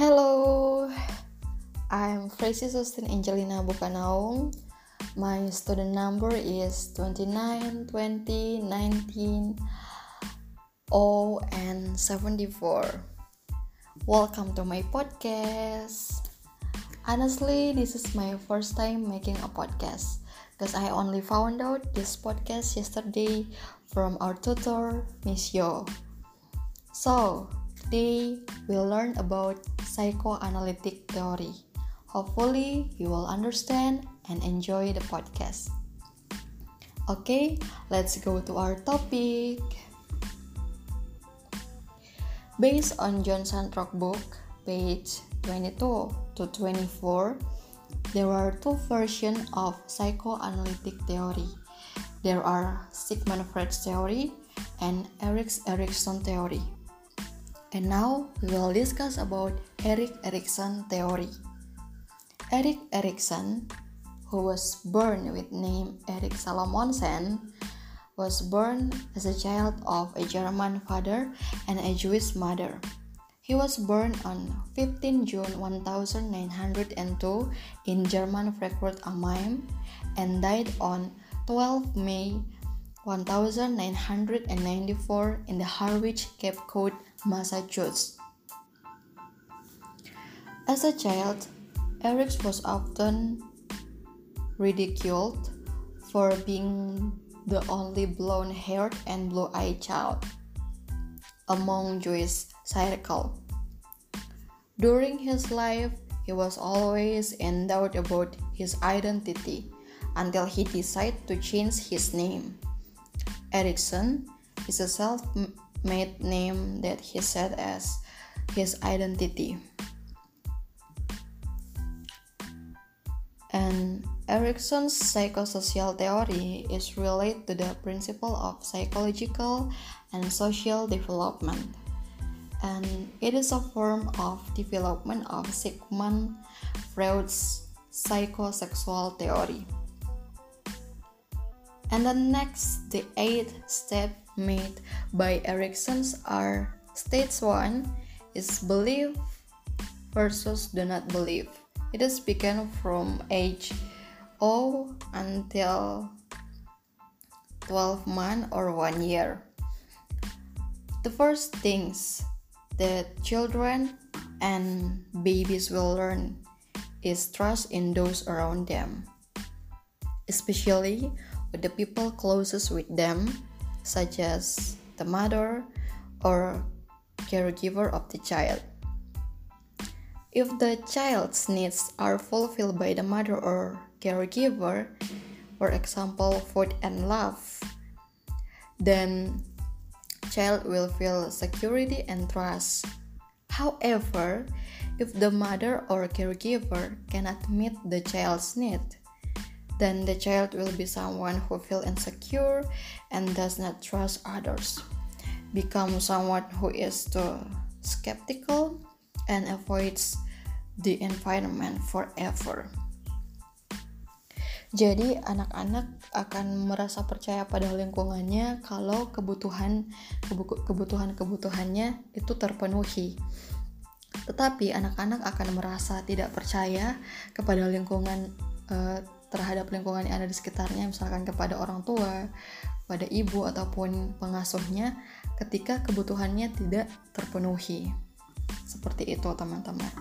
Hello, I'm Tracy Sustin Angelina Bukanaung. My student number is 29 20 19 and 74. Welcome to my podcast. Honestly, this is my first time making a podcast because I only found out this podcast yesterday from our tutor, Miss Yo. So, today we'll learn about psychoanalytic theory. Hopefully, you will understand and enjoy the podcast. Okay, let's go to our topic. Based on John Santrock book, page 22 to 24, there are two versions of psychoanalytic theory. There are Sigmund Freud's theory and Erik Erikson theory. And now we will discuss about Erik Erikson theory. Erik Erikson, who was born with name Erik Salomonsen, was born as a child of a German father and a Jewish mother. He was born on 15 June 1902 in German Frankfurt am Main and died on 12 May 1994 in the Harwich, Cape Cod, Massachusetts. As a child, Erik was often ridiculed for being the only blonde-haired and blue-eyed child among Jewish circle. During his life, he was always in doubt about his identity until he decided to change his name. Erikson is a self-made name that he set as his identity. And Erikson's psychosocial theory is related to the principle of psychological and social development. And it is a form of development of Sigmund Freud's psychosexual theory. And the 8 steps made by Erikson are: stage 1 is believe versus do not believe. It is begun from age 0 until 12 months or 1 year. The first things that children and babies will learn is trust in those around them, especially with the people closest with them, such as the mother or caregiver of the child. If the child's needs are fulfilled by the mother or caregiver, for example, food and love, then child will feel security and trust. However, if the mother or caregiver cannot meet the child's need, then the child will be someone who feels insecure and does not trust others, become someone who is too skeptical and avoids the environment forever. Jadi anak-anak akan merasa percaya pada lingkungannya kalau kebutuhannya itu terpenuhi. Tetapi anak-anak akan merasa tidak percaya kepada lingkungan terhadap lingkungan yang ada di sekitarnya, misalkan kepada orang tua, pada ibu ataupun pengasuhnya ketika kebutuhannya tidak terpenuhi. Seperti itu, teman-teman.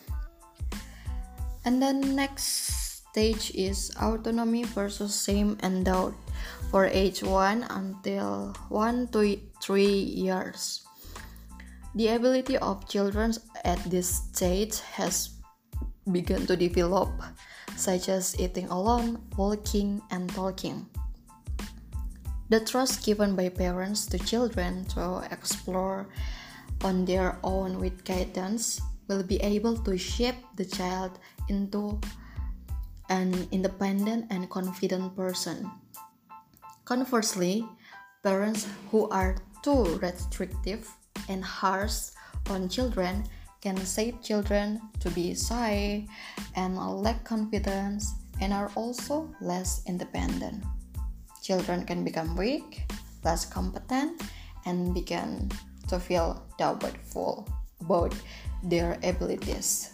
And the next stage is autonomy versus shame and doubt for age 1 until 1 to 3 years. The ability of children at this stage has begun to develop, such as eating alone, walking, and talking. The trust given by parents to children to explore on their own with guidance will be able to shape the child into an independent and confident person. Conversely, parents who are too restrictive and harsh on children can shape children to be shy and lack confidence and are also less independent. Children can become weak, less competent, and begin to feel doubtful about their abilities.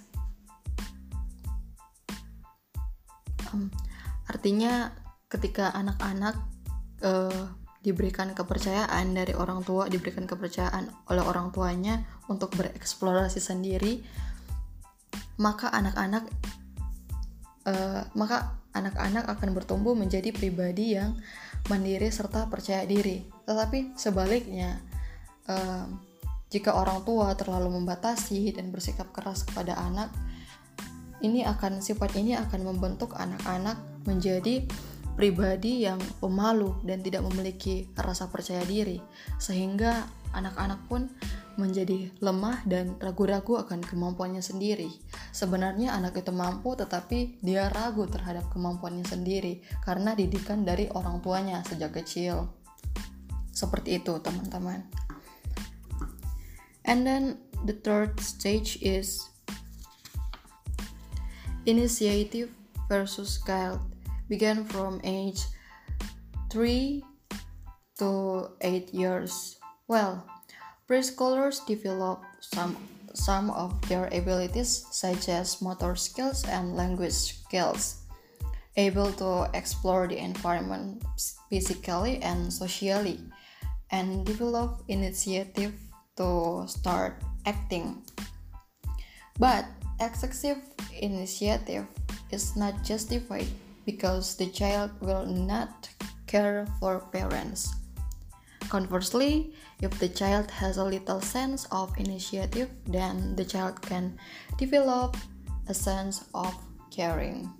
Artinya ketika anak-anak diberikan kepercayaan dari orang tua, diberikan kepercayaan oleh orang tuanya untuk bereksplorasi sendiri, maka anak-anak akan bertumbuh menjadi pribadi yang mandiri serta percaya diri. Tetapi sebaliknya, jika orang tua terlalu membatasi dan bersikap keras kepada anak, sifat ini akan membentuk anak-anak menjadi pribadi yang pemalu dan tidak memiliki rasa percaya diri, sehingga anak-anak pun menjadi lemah dan ragu-ragu akan kemampuannya sendiri. Sebenarnya anak itu mampu, tetapi dia ragu terhadap kemampuannya sendiri karena didikan dari orang tuanya sejak kecil. Seperti itu, teman-teman. And then the third stage is initiative versus guilt. Began from age 3 to 8 years. Well, preschoolers develop some of their abilities such as motor skills and language skills, able to explore the environment physically and socially, and develop initiative to start acting. But excessive initiative is not justified because the child will not care for parents. Conversely, if the child has a little sense of initiative, then the child can develop a sense of caring.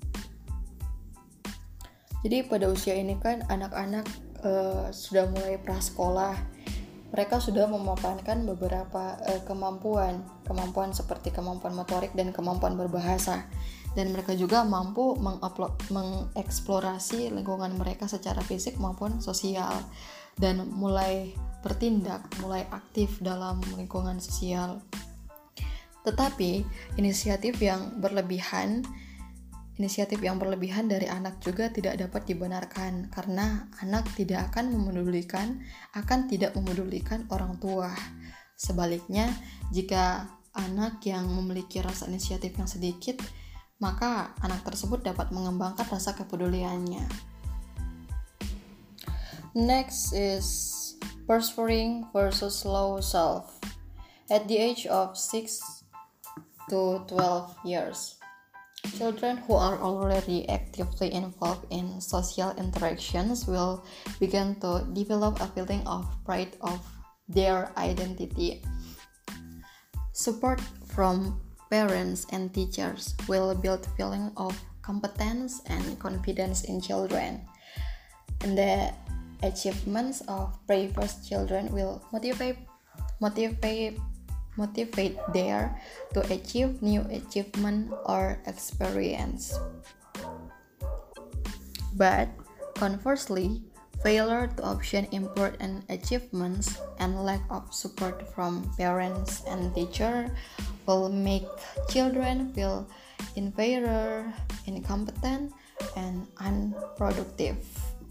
Jadi pada usia ini kan anak-anak sudah mulai prasekolah. Mereka sudah memapankan beberapa kemampuan seperti kemampuan motorik dan kemampuan berbahasa. Dan mereka juga mampu mengeksplorasi lingkungan mereka secara fisik maupun sosial, dan mulai bertindak, mulai aktif dalam lingkungan sosial. Tetapi inisiatif yang berlebihan dari anak juga tidak dapat dibenarkan, karena anak tidak memedulikan orang tua. Sebaliknya, jika anak yang memiliki rasa inisiatif yang sedikit, maka anak tersebut dapat mengembangkan rasa kepeduliannya. Next is persevering versus slow self. At the age of 6 to 12 years, children who are already actively involved in social interactions will begin to develop a feeling of pride of their identity. Support from parents and teachers will build feeling of competence and confidence in children. And the achievements of previous children will motivate there to achieve new achievement or experience. But conversely, failure to obtain important achievements and lack of support from parents and teachers will make children feel inferior, incompetent, and unproductive.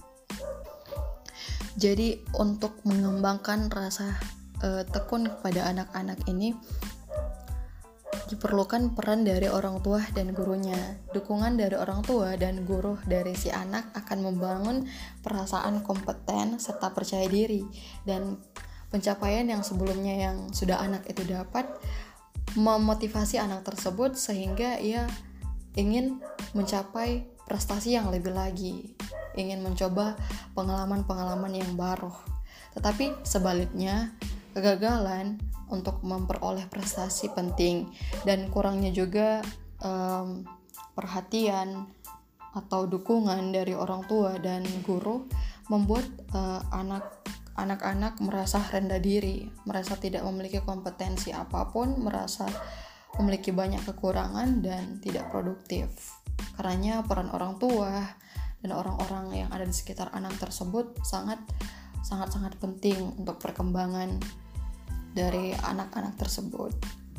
Jadi untuk mengembangkan rasa tekun kepada anak-anak ini diperlukan peran dari orang tua dan gurunya. Dukungan dari orang tua dan guru dari si anak akan membangun perasaan kompeten serta percaya diri, dan pencapaian yang sebelumnya yang sudah anak itu dapat memotivasi anak tersebut sehingga ia ingin mencapai prestasi yang lebih lagi, ingin mencoba pengalaman-pengalaman yang baru. Tetapi sebaliknya, kegagalan untuk memperoleh prestasi penting, dan kurangnya juga perhatian atau dukungan dari orang tua dan guru membuat anak-anak merasa rendah diri, merasa tidak memiliki kompetensi apapun, merasa memiliki banyak kekurangan dan tidak produktif. Karena peran orang tua dan orang-orang yang ada di sekitar anak tersebut sangat penting untuk perkembangan dari anak-anak tersebut.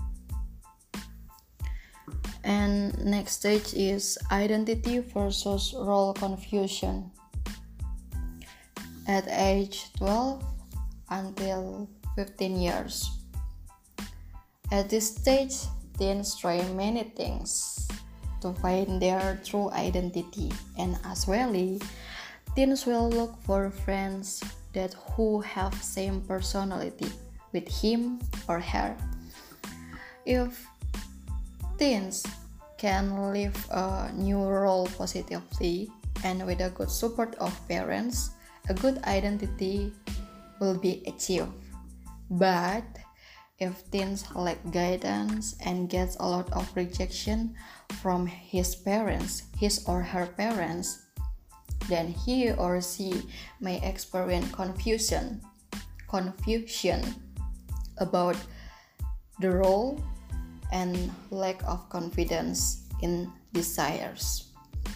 And next stage is identity versus role confusion. At age 12 until 15 years, At this stage, teens try many things to find their true identity, and as well, teens will look for friends that who have same personality with him or her. If teens can live a new role positively and with a good support of parents, a good identity will be achieved. But if teens lack guidance and gets a lot of rejection from his or her parents, then he or she may experience confusion about the role and lack of confidence in desires.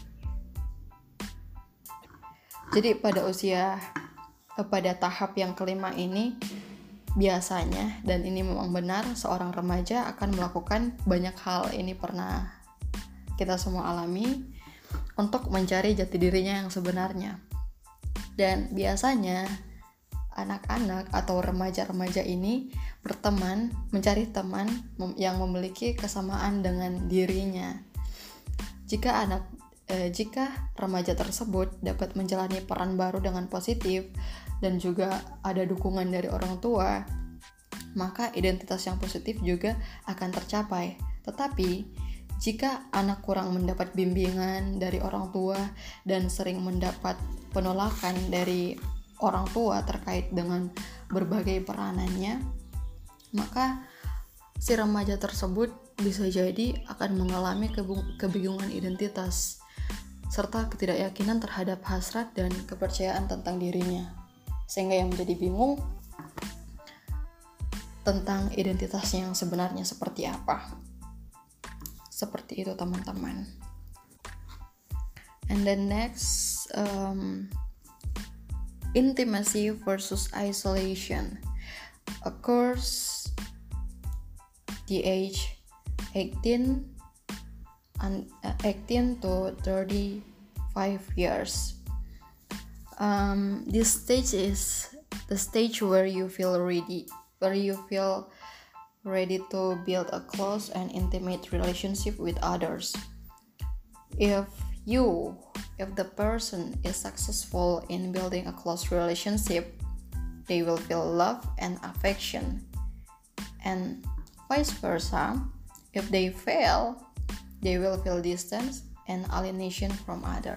Jadi pada tahap yang kelima ini biasanya, dan ini memang benar, seorang remaja akan melakukan banyak hal. Ini pernah kita semua alami untuk mencari jati dirinya yang sebenarnya. Dan biasanya anak-anak atau remaja-remaja ini berteman, mencari teman yang memiliki kesamaan dengan dirinya. Jika remaja tersebut dapat menjalani peran baru dengan positif dan juga ada dukungan dari orang tua, maka identitas yang positif juga akan tercapai. Tetapi jika anak kurang mendapat bimbingan dari orang tua dan sering mendapat penolakan dari orang tua terkait dengan berbagai peranannya, maka si remaja tersebut bisa jadi akan mengalami kebingungan identitas serta ketidakyakinan terhadap hasrat dan kepercayaan tentang dirinya, sehingga yang menjadi bingung tentang identitasnya yang sebenarnya seperti apa. Seperti itu teman-teman. And then next, intimacy versus isolation occurs the age 18 to 35 years. This stage is the stage where you feel ready to build a close and intimate relationship with others. If the person is successful in building a close relationship, they will feel love and affection. And vice versa, if they fail, they will feel distance and alienation from other.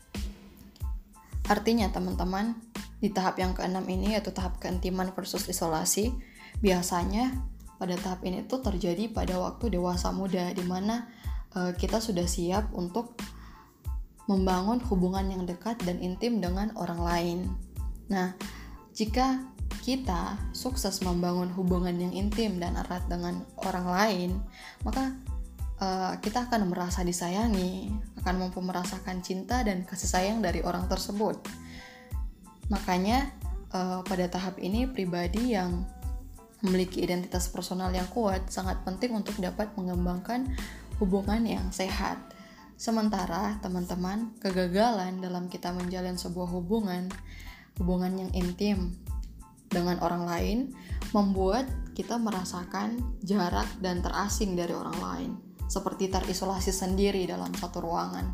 Artinya teman-teman, di tahap yang keenam ini, yaitu tahap keintiman versus isolasi, biasanya pada tahap ini tuh terjadi pada waktu dewasa muda, di mana kita sudah siap untuk membangun hubungan yang dekat dan intim dengan orang lain. Nah, jika kita sukses membangun hubungan yang intim dan erat dengan orang lain, maka kita akan merasa disayangi, akan mampu merasakan cinta dan kasih sayang dari orang tersebut. Makanya pada tahap ini pribadi yang memiliki identitas personal yang kuat sangat penting untuk dapat mengembangkan hubungan yang sehat. Sementara teman-teman, kegagalan dalam kita menjalin sebuah hubungan yang intim dengan orang lain membuat kita merasakan jarak dan terasing dari orang lain, seperti terisolasi sendiri dalam satu ruangan.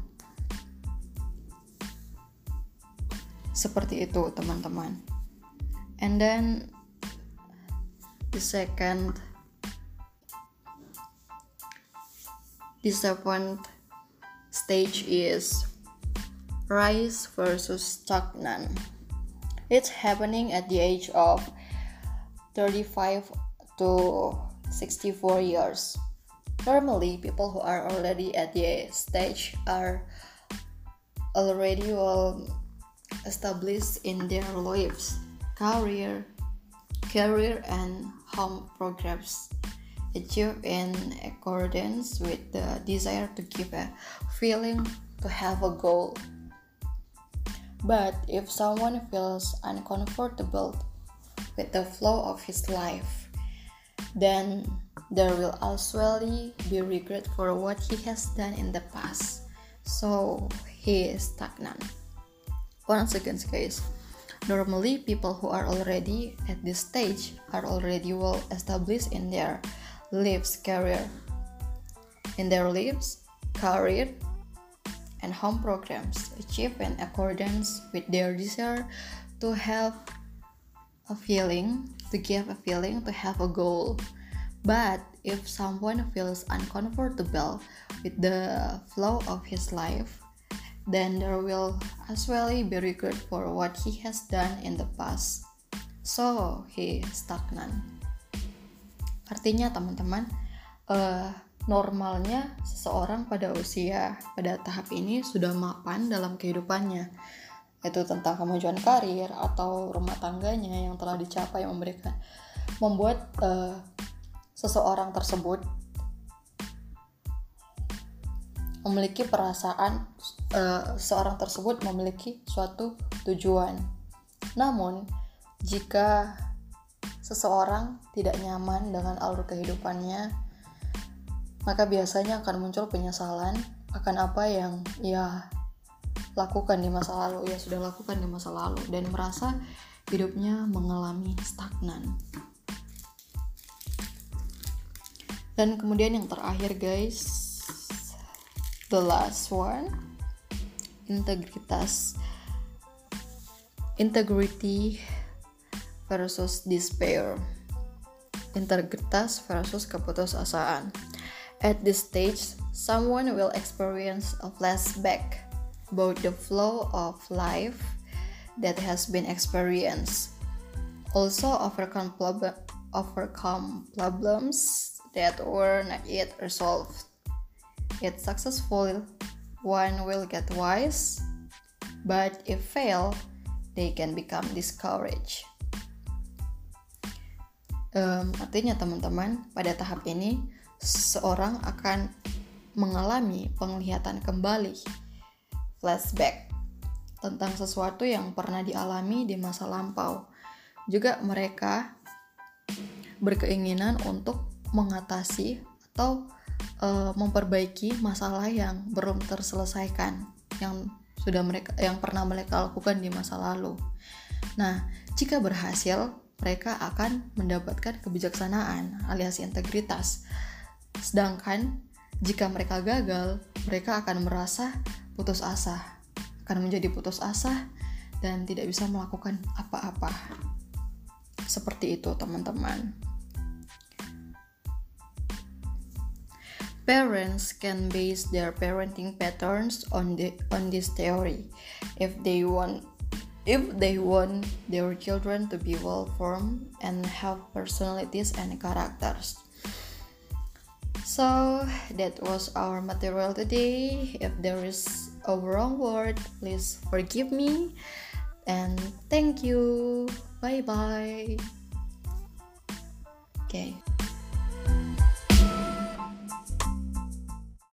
Seperti itu teman-teman. And then the seventh stage is rise versus stagnant. It's happening at the age of 35 to 64 years. Normally, people who are already at the stage are already well established in their lives, career and home progress, achieved in accordance with the desire to give a feeling to have a goal. But if someone feels uncomfortable with the flow of his life, then there will usually be regret for what he has done in the past. So he is stagnant. Once again, guys, normally people who are already at this stage are already well established in their lives, career. In their lives, career, and home programs achieve in accordance with their desire to have a feeling, to give a feeling, to have a goal. But if someone feels uncomfortable with the flow of his life, then there will as well be regret for what he has done in the past. So he stagnant. Artinya teman-teman, normalnya seseorang pada tahap ini sudah mapan dalam kehidupannya. Itu tentang kemajuan karir atau rumah tangganya yang telah dicapai, membuat seseorang tersebut memiliki perasaan, seorang tersebut memiliki suatu tujuan. Namun, jika seseorang tidak nyaman dengan alur kehidupannya, maka biasanya akan muncul penyesalan akan apa yang ia lakukan di masa lalu, ia sudah lakukan di masa lalu, dan merasa hidupnya mengalami stagnan. Dan kemudian yang terakhir guys, the last one, integrity versus despair. Integritas versus keputusasaan. At this stage, someone will experience a flashback about the flow of life that has been experienced. Also overcome problems that were not yet resolved. If successful, one will get wise, but if fail, they can become discouraged. Artinya teman-teman, pada tahap ini seseorang akan mengalami penglihatan kembali, flashback tentang sesuatu yang pernah dialami di masa lampau. Juga mereka berkeinginan untuk mengatasi atau memperbaiki masalah yang belum terselesaikan, yang pernah mereka lakukan di masa lalu. Nah, jika berhasil, mereka akan mendapatkan kebijaksanaan alias integritas. Sedangkan jika mereka gagal, mereka akan merasa putus asa, akan menjadi putus asa dan tidak bisa melakukan apa-apa. Seperti itu teman-teman. Parents can base their parenting patterns on this theory. If they want their children to be well-formed and have personalities and characters. So that was our material today. If there is a wrong word, please forgive me. And thank you. Bye-bye. Okay.